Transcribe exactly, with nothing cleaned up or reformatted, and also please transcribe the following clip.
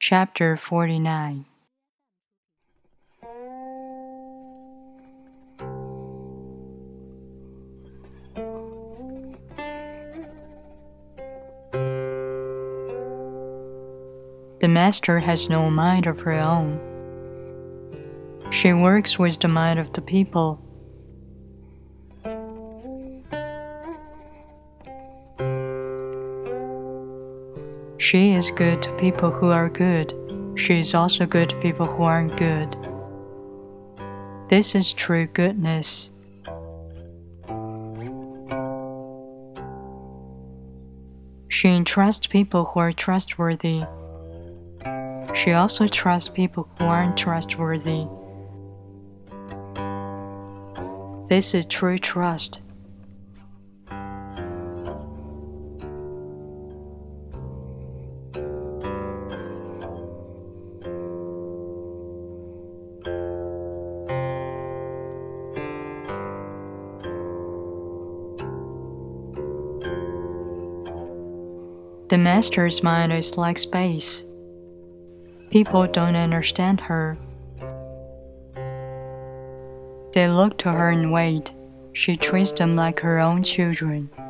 Chapter forty-nine. The master has no mind of her own. She works with the mind of the people. She is good to people who are good. She is also good to people who aren't good. This is true goodness. She entrusts people who are trustworthy. She also trusts people who aren't trustworthy. This is true trust. The master's mind is like space. People don't understand her. They look to her and wait. She treats them like her own children.